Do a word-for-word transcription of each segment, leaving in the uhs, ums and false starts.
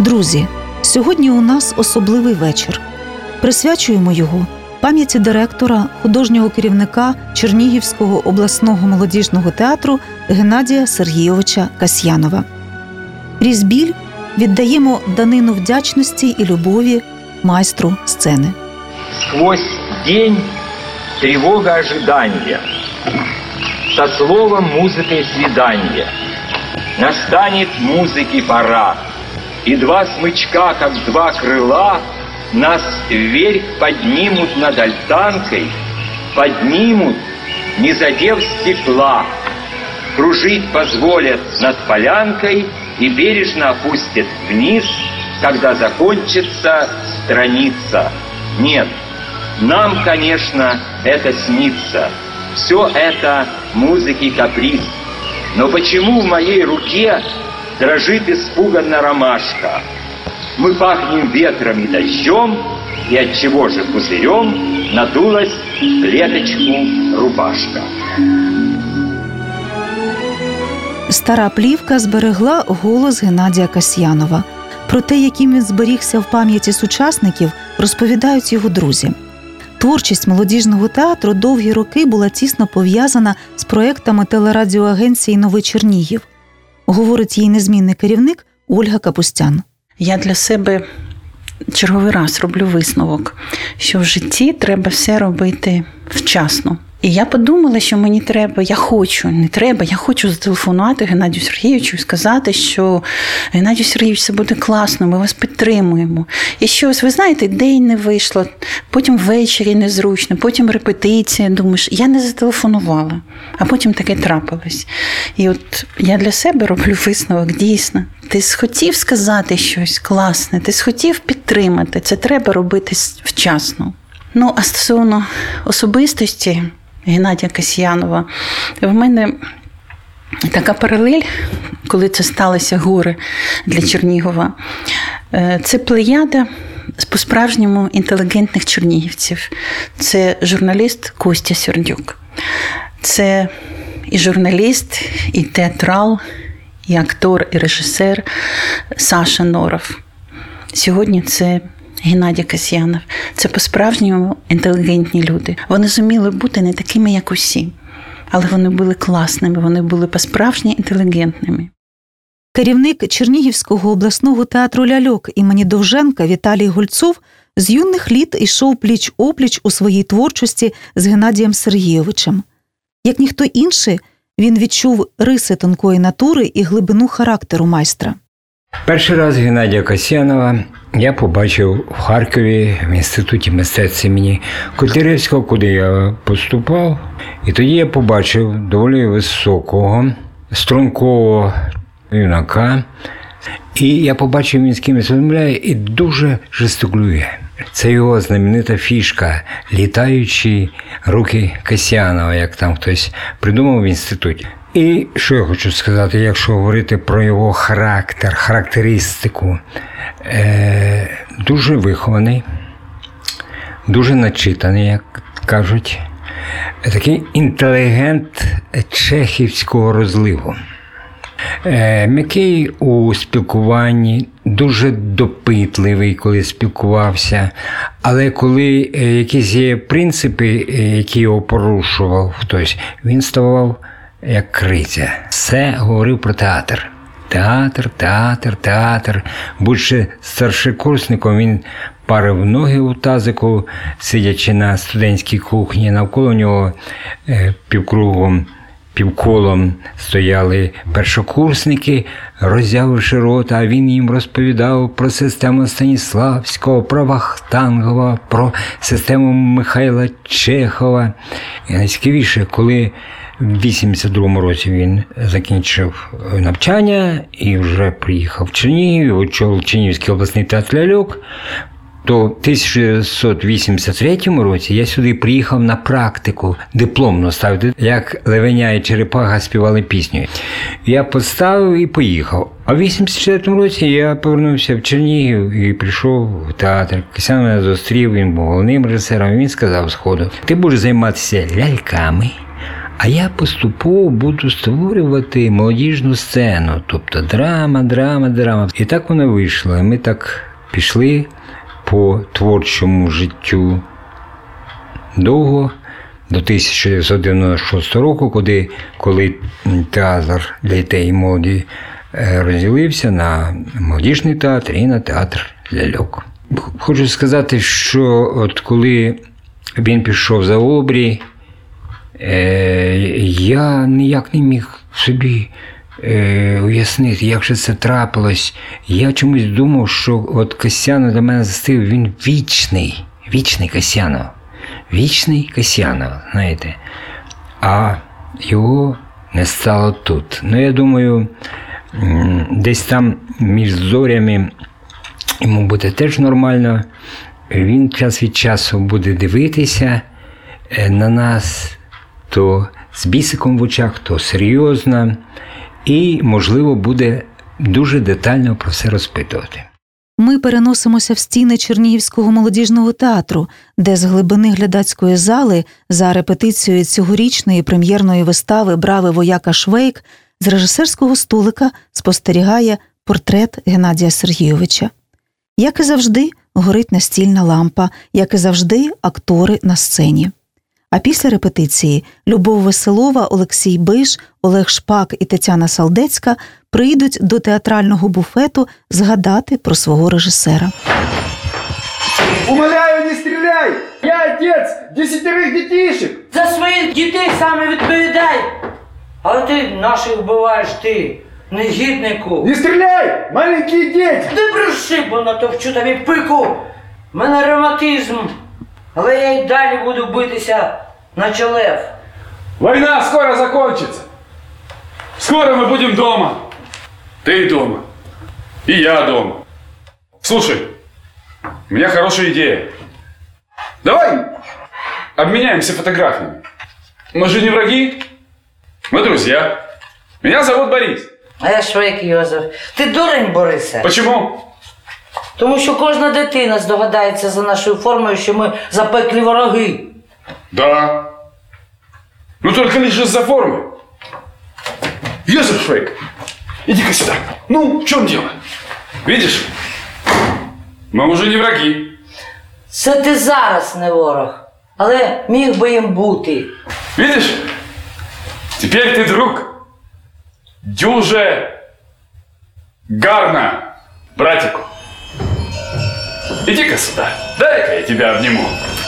Друзі, сьогодні у нас особливий вечір. Присвячуємо його пам'яті директора, художнього керівника Чернігівського обласного молодіжного театру Геннадія Сергійовича Касьянова. Крізь біль віддаємо данину вдячності і любові майстру сцени. Сквозь день тревога ожидания, со словом музыкой свидания. Настанет музыки пора, и два смычка, как два крыла, нас вверх поднимут над альтанкой, поднимут, не задев стекла, кружить позволят над полянкой и бережно опустят вниз, когда закончится страница. Нет, нам, конечно, это снится, все это музыки каприз. Но почему в моей руке дрожит испуганно ромашка? Мы пахнем ветром и дождем, и отчего же пузырем надулась в клеточку рубашка. Стара плівка зберегла голос Геннадія Касьянова. Про те, яким він зберігся в пам'яті сучасників, розповідають його друзі. Творчість молодіжного театру довгі роки була тісно пов'язана з проектами телерадіоагенції «Новий Чернігів», говорить її незмінний керівник Ольга Капустян. Я для себе черговий раз роблю висновок, що в житті треба все робити вчасно. І я подумала, що мені треба, я хочу, не треба, я хочу зателефонувати Геннадію Сергійовичу і сказати, що Геннадій Сергійович, це буде класно, ми вас підтримуємо. І щось, ви знаєте, день не вийшло, потім ввечері незручно, потім репетиція, думаєш, я не зателефонувала, а потім таке трапилось. І от я для себе роблю висновок, дійсно, ти схотів сказати щось класне, ти схотів підтримати, це треба робити вчасно. Ну, а стосовно особистості Геннадія Касьянова, в мене така паралель, коли це сталося горе для Чернігова. Це плеяда по-справжньому інтелігентних чернігівців. Це журналіст Костя Сердюк. Це і журналіст, і театрал, і актор, і режисер Саша Норов. Сьогодні це Геннадій Касьянов. Це по-справжньому інтелігентні люди. Вони зуміли бути не такими, як усі, але вони були класними, вони були по-справжньому інтелігентними. Керівник Чернігівського обласного театру «Ляльок» імені Довженка Віталій Гольцов з юних літ йшов пліч-опліч у своїй творчості з Геннадієм Сергійовичем. Як ніхто інший, він відчув риси тонкої натури і глибину характеру майстра. Перший раз Геннадія Касьянова я побачив в Харкові в Інституті мистецтв імені Котляревського, куди я поступав. І тоді я побачив доволі високого, стрункового юнака. І я побачив, він з кимось розмовляє і дуже жестикулює. Це його знаменита фішка – літаючі руки Касьянова, як там хтось придумав в інституті. І що я хочу сказати, якщо говорити про його характер, характеристику, е, дуже вихований, дуже начитаний, як кажуть, такий інтелігент чехівського розливу. Е, м'який у спілкуванні, дуже допитливий, коли спілкувався, але коли якісь є принципи, які його порушував хтось, він ставав як криця. Все говорив про театр. Театр, театр, театр. Будучи старшокурсником, він парив ноги у тазику, сидячи на студентській кухні. Навколо нього півкругом, півколом стояли першокурсники, роззявивши рота, а він їм розповідав про систему Станіславського, про Вахтангова, про систему Михайла Чехова. І найцікавіше, коли в вісімдесят другому році він закінчив навчання і вже приїхав в Чернігів, очолив Чернігівський обласний театр «Ляльок», то в тисяча дев'ятсот вісімдесят третьому році я сюди приїхав на практику дипломну ставити, як Левеня і Черепаха співали пісню. Я поставив і поїхав. А в вісімдесят четвертому році я повернувся в Чернігів і прийшов в театр. Касьянов мене зустрів, він був головним режисером, і він сказав сходу: ти будеш займатися ляльками, А я поступово буду створювати молодіжну сцену, тобто драма, драма, драма. І так воно вийшло. Ми так пішли по творчому життю довго, до тисяча дев'ятсот дев'яносто шостого року, коли, коли театр для дітей і молоді розділився на молодіжний театр і на театр ляльок. Хочу сказати, що от коли він пішов за обрій, я ніяк не міг собі уяснити, як же це трапилось. Я чомусь думав, що от Касьянов для мене застив, він вічний, вічний Касьянов. Вічний Касьянов, знаєте. А його не стало тут. Ну, я думаю, десь там між зорями йому буде теж нормально. Він час від часу буде дивитися на нас, то з бісиком в очах, то серйозно. І, можливо, буде дуже детально про все розпитувати. Ми переносимося в стіни Чернігівського молодіжного театру, де з глибини глядацької зали за репетицією цьогорічної прем'єрної вистави «Бравий вояка Швейк» з режисерського столика спостерігає портрет Геннадія Сергійовича. Як і завжди, горить настільна лампа, як і завжди, актори на сцені. А після репетиції Любов Веселова, Олексій Биш, Олег Шпак і Тетяна Салдецька прийдуть до театрального буфету згадати про свого режисера. Умоляю, не стріляй! Я отець десятерих дітейших! За своїх дітей саме відповідай! Але ти наших вбиваєш, ти, негіднику! Не стріляй! Маленькі діти! Не бреши, бо натовчу тобі пику! У мене ревматизм, але я й далі буду битися, наче лев. Война скоро закончится. Скоро мы будем дома. Ты дома. И я дома. Слушай, у меня хорошая идея. Давай обменяемся фотографиями. Мы же не враги. Мы друзья. Меня зовут Борис. А я Швейк Йозеф. Ти дурень, Борисе? Почему? Тому що кожна дитина здогадається за нашою формою, що ми запеклі вороги. Да. Ну только лишь из-за формы. Йозеф Швейк, иди-ка сюда. Ну, в чем дело? Видишь? Мы уже не враги. Це ти зараз не ворог, але міг би їм бути. Видишь? Теперь ты друг. Дюже гарно, братику. Иди-ка сюда. Дай-ка я тебя обниму.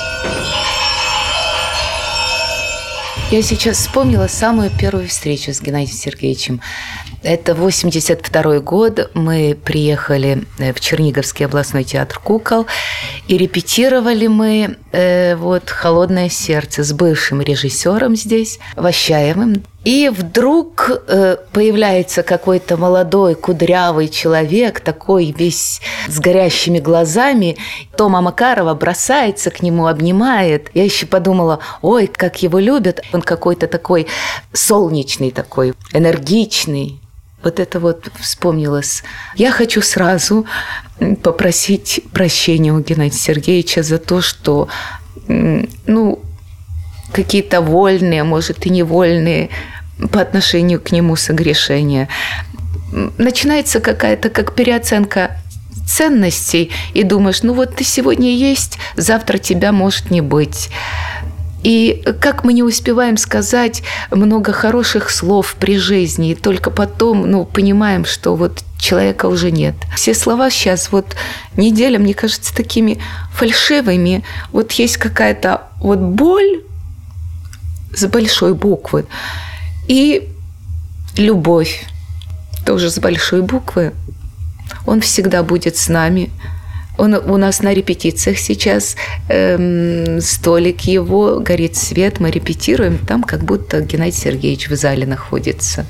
Я сейчас вспомнила самую первую встречу с Геннадием Сергеевичем. Это восемьдесят второй год. Мы приехали в Черниговский областной театр кукол и репетировали мы э, вот «Холодное сердце» с бывшим режиссером здесь, Ващаевым. И вдруг э, появляется какой-то молодой кудрявый человек, такой весь с горящими глазами. Тома Макарова бросается к нему, обнимает. Я еще подумала, ой, как его любят. Он какой-то такой солнечный, такой энергичный. Вот это вот вспомнилось. Я хочу сразу попросить прощения у Геннадия Сергеевича за то, что, ну, какие-то вольные, может, и невольные по отношению к нему согрешения. Начинается какая-то как переоценка ценностей, и думаешь, ну вот ты сегодня есть, завтра тебя может не быть. И как мы не успеваем сказать много хороших слов при жизни, и только потом, ну, понимаем, что вот человека уже нет. Все слова сейчас, вот неделя, мне кажется, такими фальшивыми. Вот есть какая-то вот боль с большой буквы и любовь тоже с большой буквы. Он всегда будет с нами. Он у нас на репетициях сейчас, эм, столик его, горит свет, мы репетируем, там как будто Геннадий Сергеевич в зале находится.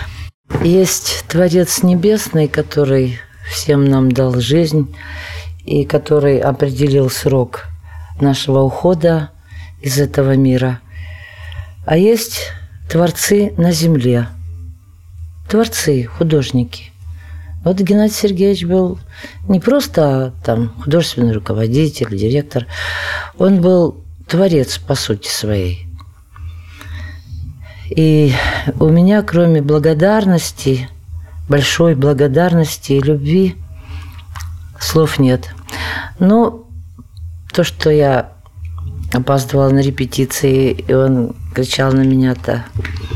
Есть Творец Небесный, который всем нам дал жизнь и который определил срок нашего ухода из этого мира. А есть творцы на земле, творцы, художники. Вот Геннадий Сергеевич был не просто там художественный руководитель, директор, он был творец по сути своей. И у меня, кроме благодарности, большой благодарности и любви, слов нет. Но то, что я опаздывала на репетиции, и он кричал на меня-то,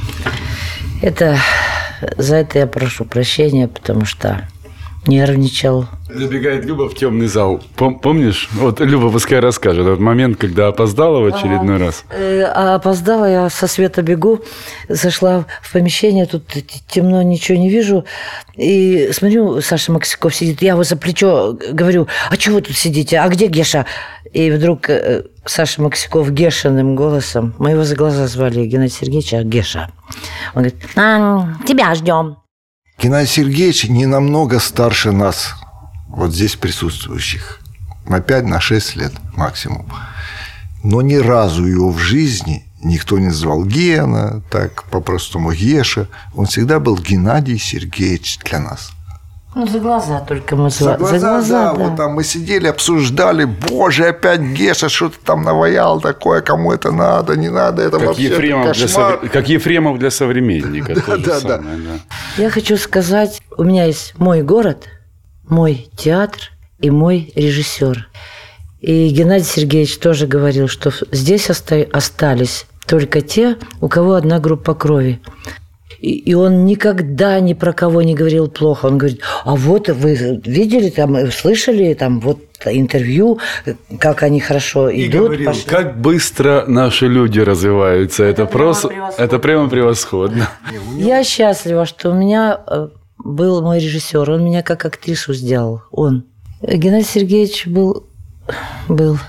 это за это я прошу прощения, потому что нервничал. Забегает Люба в темный зал. Пом- помнишь? Вот Люба пускай расскажет этот момент, когда опоздала в очередной а, раз. Э, а опоздала, я со света бегу, зашла в помещение, тут темно, ничего не вижу. И смотрю, Саша Максиков сидит, я его за плечо говорю, а чего вы тут сидите, а где Геша? И вдруг э, Саша Максиков Гешиным голосом, мы его за глаза звали, Геннадий Сергеевич, а Геша. Он говорит, а, тебя ждем. Геннадий Сергеевич не намного старше нас, вот здесь присутствующих. На пять, на шесть лет максимум. Но ни разу его в жизни никто не звал Гена, так по-простому Геша. Он всегда был Геннадий Сергеевич для нас. Ну, за глаза только мы звали. За глаза, за глаза да, да. Вот там мы сидели, обсуждали, боже, опять Геша что-то там наваял такое, кому это надо, не надо, это как вообще Ефремов кошмар. Для сов... Как Ефремов для современника. Да, да, да. Я хочу сказать, у меня есть мой город, мой театр и мой режиссер. И Геннадий Сергеевич тоже говорил, что здесь оста- остались только те, у кого одна группа крови. И он никогда ни про кого не говорил плохо. Он говорит, а вот вы видели, там, слышали там, вот интервью, как они хорошо и идут. Говорил, пошли. как быстро наши люди развиваются. Это, это, просто, прямо, это прямо превосходно. Я счастлива, что у меня был мой режиссер. Он меня как актрису сделал. Он. Геннадий Сергеевич был... был.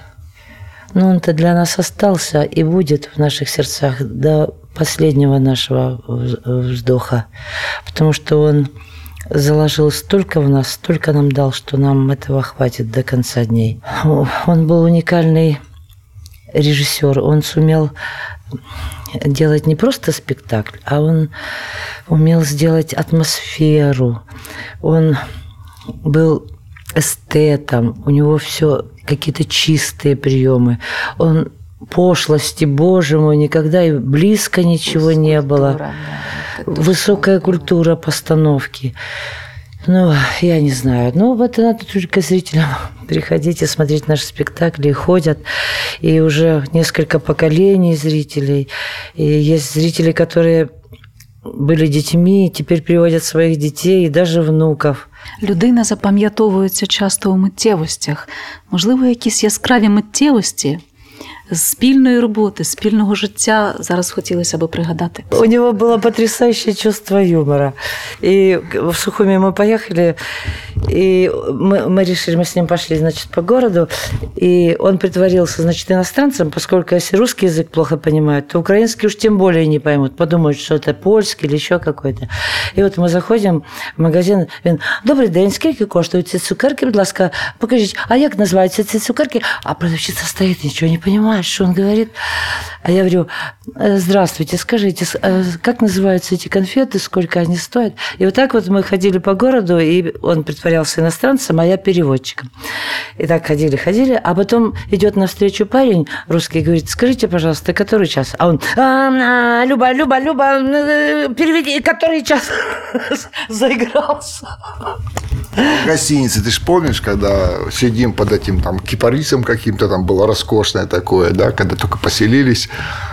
Но он-то для нас остался и будет в наших сердцах до последнего нашего вздоха, потому что он заложил столько в нас, столько нам дал, что нам этого хватит до конца дней. Он был уникальный режиссер, он сумел делать не просто спектакль, а он умел сделать атмосферу, он был эстетом, у него все какие-то чистые приемы, он пошлости, боже мой, никогда и близко ничего не было. Да, высокая культура постановки. Ну, я не знаю. Ну, вот это надо только зрителям приходить и смотреть наши спектакли. И ходят, и уже несколько поколений зрителей. И есть зрители, которые были детьми, і тепер приводять своїх дітей і навіть внуків. Людина запам'ятовується часто у миттєвостях. Можливо, якісь яскраві миттєвості з спільної роботи, спільного життя зараз хотілося б пригадати. У него было потрясающее чувство юмора. И в Сухуми мы поехали, и мы, мы решили, мы с ним пошли, значит, по городу, и он притворился, значит, иностранцем, поскольку если русский язык плохо понимают, то украинский уж тем более не поймут, подумают, что это польский или еще какой-то. И вот мы заходим в магазин, він, добрий день, скільки коштують ці цукерки, будь ласка, покажіть, а як називаються ці цукерки? А продавщица стоит, ничего не понимает, что он говорит. А я говорю, здравствуйте, скажите, как называются эти конфеты, сколько они стоят? И вот так вот мы ходили по городу, и он притворялся иностранцем, а я переводчиком. И так ходили, ходили, а потом идет навстречу парень русский и говорит, скажите, пожалуйста, который час? А он, а, Люба, Люба, Люба, переведи, который час? Заигрался. В гостинице, ты ж помнишь, когда сидим под этим там кипарисом каким-то, там было роскошное такое, да, когда только поселились,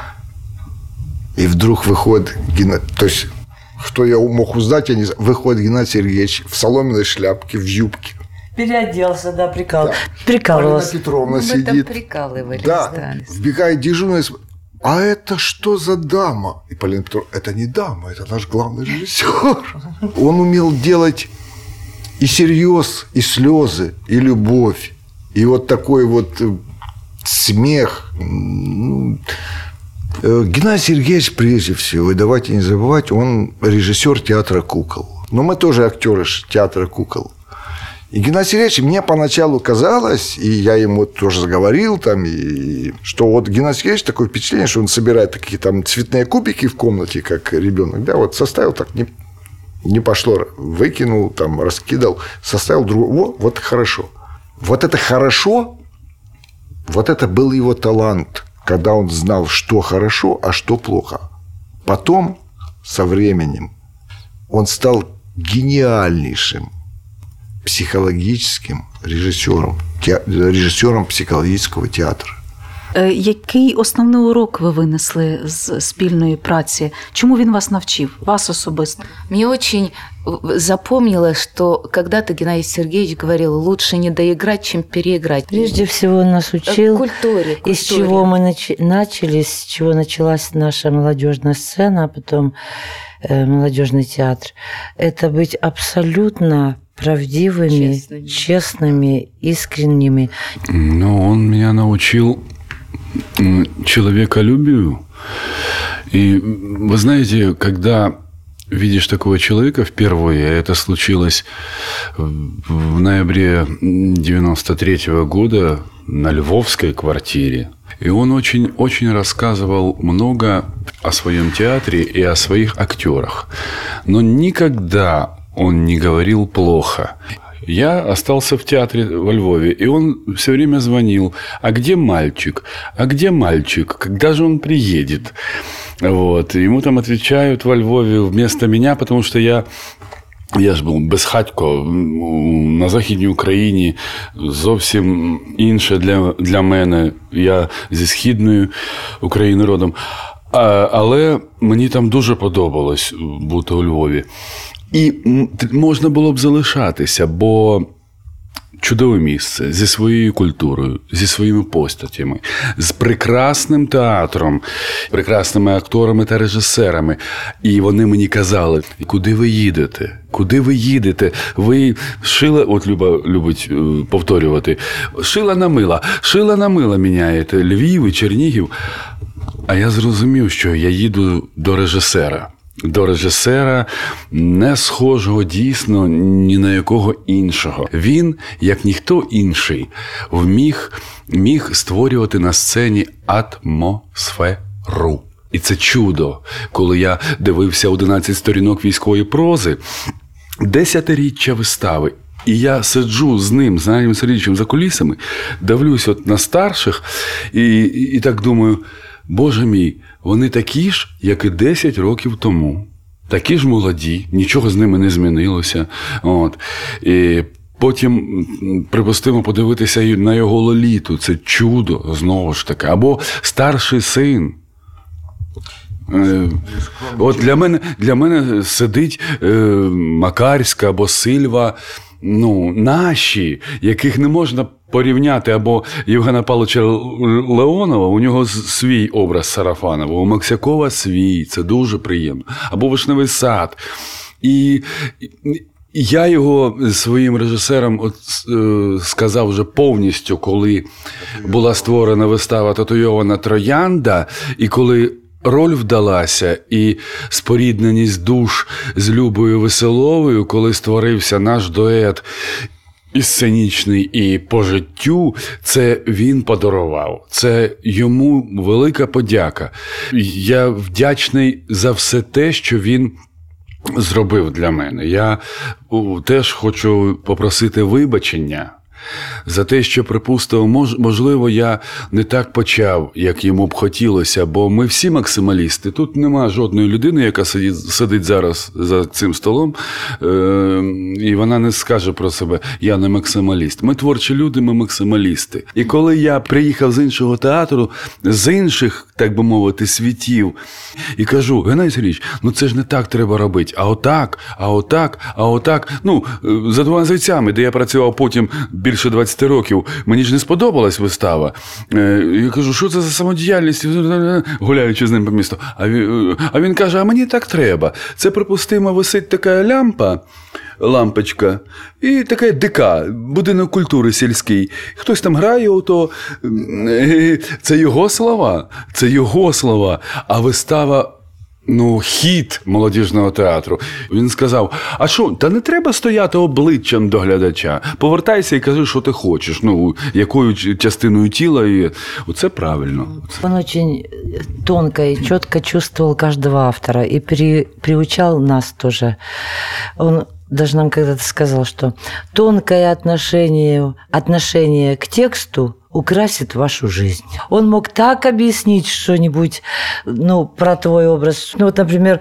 и вдруг выходит, то есть, кто я мог узнать, я не знаю, выходит Геннадий Сергеевич в соломенной шляпке, в юбке. Переоделся, да, прикал. Да. Прикалывался. Полина Петровна Мы сидит. там прикалывались, да. да. Вбегает дежурный, а это что за дама? И Полина Петровна, это не дама, это наш главный режиссер. Он умел делать и серьез, и слезы, и любовь, и вот такой вот смех. Геннадий Сергеевич, прежде всего, и давайте не забывать, он режиссер театра кукол. Но мы тоже актеры театра кукол. И Геннадий Сергеевич, мне поначалу казалось, и я ему тоже заговорил, там, и, что вот Геннадий Сергеевич такое впечатление, что он собирает такие там цветные кубики в комнате, как ребенок, да, вот составил так, не, не пошло, выкинул, там, раскидал, составил другого, вот хорошо. Вот это хорошо, вот это был его талант, когда он знал, что хорошо, а что плохо. Потом, со временем, он стал гениальнейшим психологическим режиссером, те, режиссером психологического театра. Який основний урок ви винесли з спільної праці? Чому він вас навчив, вас особисто? Мне очень запомнилось, что когда-то Геннадий Сергеевич говорил, лучше не доиграть, чем переиграть. Прежде всего он нас учил, культуре, культуре. Из чего мы нач- начали, с чего началась наша молодежная сцена, а потом э, молодежный театр. Это быть абсолютно правдивыми, честными, честными, искренними. Ну, он меня научил человеколюбию. И вы знаете, когда видишь такого человека впервые, это случилось в ноябре девяносто третьего года на львовской квартире. И он очень-очень рассказывал много о своем театре и о своих актерах. Но никогда он не говорил плохо. Я остался в театре во Львове, и он все время звонил: а где мальчик? А где мальчик? Когда же он приедет? Вот. Ему там отвечают во Львове вместо меня, потому что я... Я ж був безхатько на Західній Україні, зовсім інше для, для мене. Я зі Східної України родом. А, але мені там дуже подобалось бути у Львові. І можна було б залишатися, бо чудове місце зі своєю культурою, зі своїми постатями, з прекрасним театром, прекрасними акторами та режисерами. І вони мені казали: куди ви їдете? Куди ви їдете? Ви шила, от Люба любить повторювати, шила на мила, шила на мила міняєте, Львів і Чернігів. А я зрозумів, що я їду до режисера. До режисера, не схожого дійсно ні на якого іншого. Він, як ніхто інший, вміг міг створювати на сцені атмосферу. І це чудо, коли я дивився одинадцять сторінок військової прози, десятиріччя вистави. І я сиджу з ним, з Геннадієм Сергійовичем за кулісами, дивлюсь от на старших і, і, і так думаю: Боже мій, вони такі ж, як і десять років тому. Такі ж молоді, нічого з ними не змінилося. От. І потім, припустимо, подивитися на його Лоліту. Це чудо, знову ж таки. Або старший син. От для мене, для мене сидить е, Макарська або Сильва, ну, наші, яких не можна порівняти, або Євгена Павловича Леонова, у нього свій образ Сарафанова, у Максякова свій, це дуже приємно, або Вишневий сад. І я його своїм режисерам от, е, сказав вже повністю, коли була створена вистава «Татуйована троянда», і коли роль вдалася, і спорідненість душ з Любою Веселовою, коли створився наш дует і сценічний, і по життю, це він подарував. Це йому велика подяка. Я вдячний за все те, що він зробив для мене. Я теж хочу попросити вибачення за те, що, припустив, мож, можливо, я не так почав, як йому б хотілося, бо ми всі максималісти. Тут нема жодної людини, яка сидить, сидить зараз за цим столом, е- і вона не скаже про себе: я не максималіст. Ми творчі люди, ми максималісти. І коли я приїхав з іншого театру, з інших, так би мовити, світів, і кажу: Геннадій Сергійович, ну це ж не так треба робити, а отак, а отак, а отак. Ну, за двома зайцями, де я працював потім більше двадцять років, мені ж не сподобалась вистава. Я кажу: що це за самодіяльність, гуляючи з ним по місту. А він, а він каже: а мені так треба. Це, припустимо, висить така лямпа, лампочка, і така ДК, будинок культури сільський. Хтось там грає, ото, це його слова, це його слова. А вистава, ну, хіт молодіжного театру. Він сказав: а що, та не треба стояти обличчям до глядача. Повертайся і кажи, що ти хочеш. Ну, якою частиною тіла. І... Оце правильно. Он очень тонко и четко чувствовал каждого автора и при, приучал нас тоже. Он даже нам когда-то сказал, что тонкое отношение, отношение к тексту украсит вашу жизнь. Он мог так объяснить что-нибудь, ну, про твой образ. Ну, вот, например,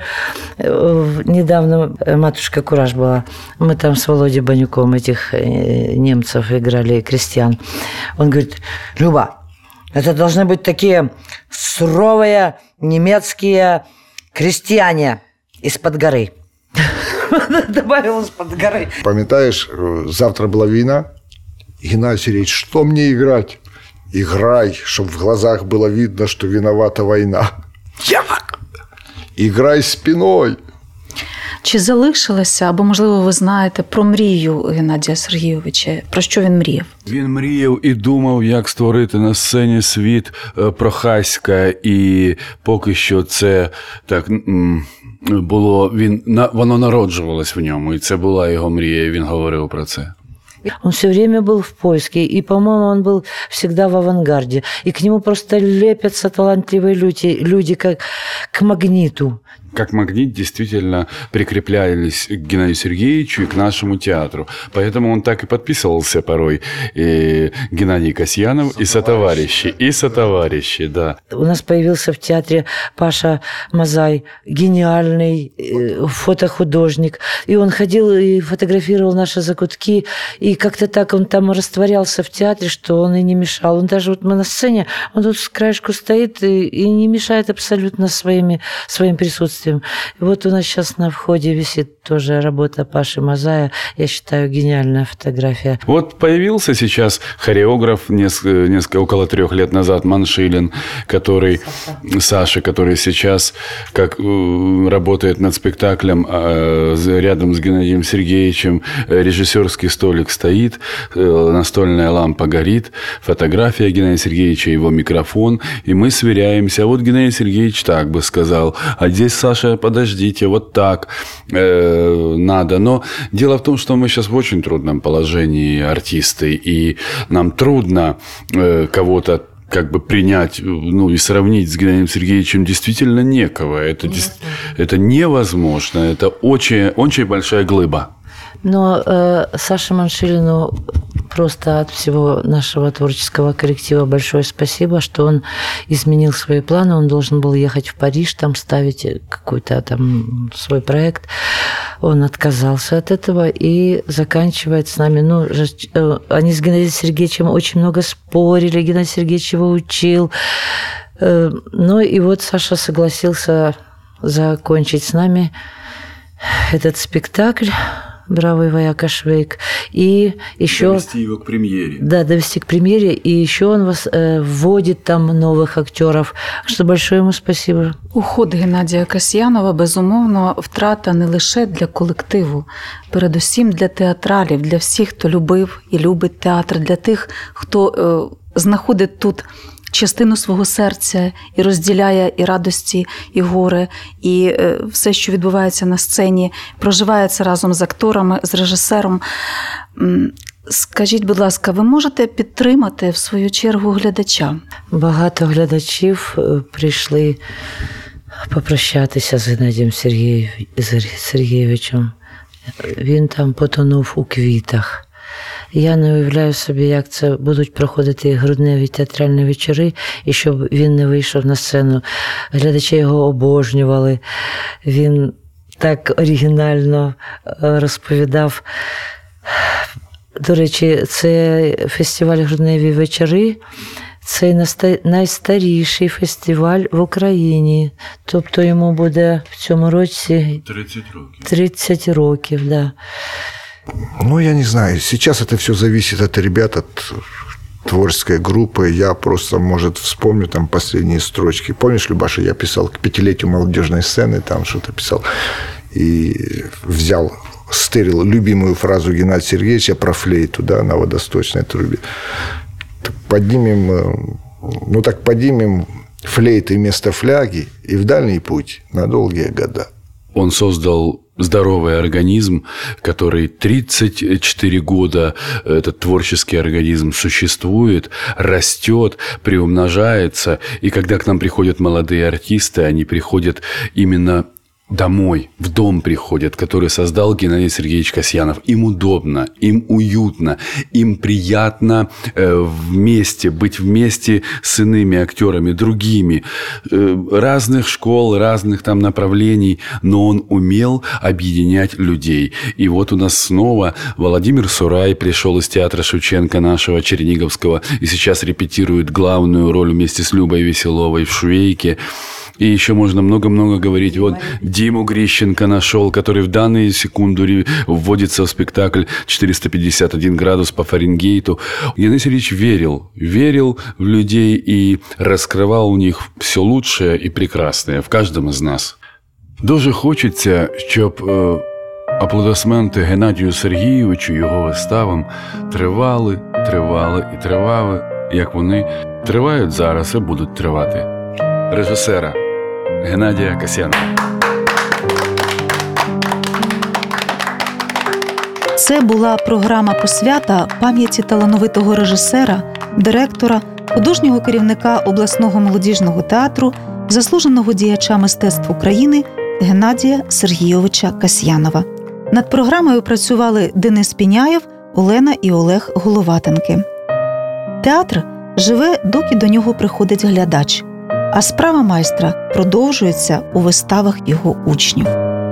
недавно «Матушка Кураж» была. Мы там с Володей Банюком этих немцев играли, крестьян. Он говорит: Люба, это должны быть такие суровые немецкие крестьяне из-под горы. Добавил из-под горы. Памятаешь, завтра была война? Геннадий Сергеевич, что мне играть? Играй, чтобы в глазах было видно, что виновата война. Як? Играй спиной. Чи залишилося, або, можливо, ви знаєте про мрію Геннадія Сергійовича? Про що він мріяв? Він мріяв і думав, як створити на сцені світ Прохаська, і поки що це так було, він, воно народжувалось в ньому, і це була його мрія, і він говорив про це. Он все время был в поиске, и, по-моему, он был всегда в авангарде. И к нему просто лепятся талантливые люди, люди как к магниту. Как магнит действительно прикреплялись к Геннадию Сергеевичу и к нашему театру. Поэтому он так и подписывался порой. И Геннадий Касьянов, и сотоварищи, и сотоварищи, да. У нас появился в театре Паша Мазай, гениальный фотохудожник. И он ходил и фотографировал наши закутки. И как-то так он там растворялся в театре, что он и не мешал. Он даже вот мы на сцене, он тут с краешку стоит и, и не мешает абсолютно своими, своим присутствием. И вот у нас сейчас на входе висит тоже работа Паши Мазая. Я считаю, гениальная фотография. Вот появился сейчас хореограф несколько, несколько, около трех лет назад, Маншилин, который, Саша, Саша который сейчас как, работает над спектаклем рядом с Геннадием Сергеевичем. Режиссерский столик стоит, настольная лампа горит, фотография Геннадия Сергеевича, его микрофон. И мы сверяемся. А вот Геннадий Сергеевич так бы сказал. А здесь, Саша, подождите, вот так э, надо. Но дело в том, что мы сейчас в очень трудном положении, артисты, и нам трудно э, кого-то как бы принять, ну, и сравнить с Геннадием Сергеевичем действительно некого. Это, это невозможно. Это очень, очень большая глыба. Но э, Саше Маншилину просто от всего нашего творческого коллектива большое спасибо, что он изменил свои планы. Он должен был ехать в Париж, там ставить какой-то там свой проект. Он отказался от этого и заканчивает с нами. Ну, они с Геннадием Сергеевичем очень много спорили, Геннадий Сергеевич его учил. Ну и вот Саша согласился закончить с нами этот спектакль «Бравый вояка Швейк». И еще... Довести его к премьере. Да, довести к премьере. И еще он вас, э, вводит там новых актеров. Что большое ему спасибо. Уход Геннадія Касьянова, безумовно, втрата не лише для колективу, передусім для театралів, для всіх, хто любив і любить театр, для тих, хто е, знаходить тут частину свого серця і розділяє і радості, і горе, і е, все, що відбувається на сцені, проживає це разом з акторами, з режисером. Скажіть, будь ласка, ви можете підтримати в свою чергу глядача? Багато глядачів прийшли попрощатися з Геннадієм Сергійовичем. Він там потонув у квітах. Я не уявляю собі, як це будуть проходити грудневі театральні вечори, і щоб він не вийшов на сцену. Глядачі його обожнювали. Він так оригінально розповідав. До речі, це фестиваль «Грудневі вечори». Це найстаріший фестиваль в Україні. Тобто йому буде в цьому році тридцять років. тридцять років, да. Ну, я не знаю. Сейчас это все зависит от ребят, от творческой группы. Я просто, может, вспомню там последние строчки. Помнишь, Любаша, я писал к пятилетию молодежной сцены, там что-то писал. И взял, стырил любимую фразу Геннадия Сергеевича про флейту, да, на водосточной трубе. Поднимем, ну так поднимем флейты вместо фляги и в дальний путь на долгие года. Он создал здоровый организм, который тридцать четыре года, этот творческий организм существует, растет, приумножается. И когда к нам приходят молодые артисты, они приходят именно домой, в дом приходят, который создал Геннадий Сергеевич Касьянов. Им удобно, им уютно, им приятно э, вместе, быть вместе с иными актерами, другими, э, разных школ, разных там направлений, но он умел объединять людей. И вот у нас снова Владимир Сурай пришел из театра Шевченко нашего Черниговского и сейчас репетирует главную роль вместе с Любой Веселовой в «Швейке». И еще можно много-много говорить. Вот Диму Грищенко нашел, который в данную секунду вводится в спектакль четыреста пятьдесят один градус по Фаренгейту. Геннадий Сергеевич верил, верил в людей и раскрывал у них все лучшее і прекрасне в каждом из нас. Дуже хочеться, щоб е, аплодисменти Геннадію Сергійовичу, його виставам тривали, тривали і тривали, як вони тривають зараз і будуть тривати. Режисера Геннадія Касьянова. Це була програма посвята пам'яті талановитого режисера, директора, художнього керівника обласного молодіжного театру, заслуженого діяча мистецтв України Геннадія Сергійовича Касьянова. Над програмою працювали Денис Піняєв, Олена і Олег Головатенки. Театр живе, доки до нього приходить глядач, а справа майстра продовжується у виставах його учнів.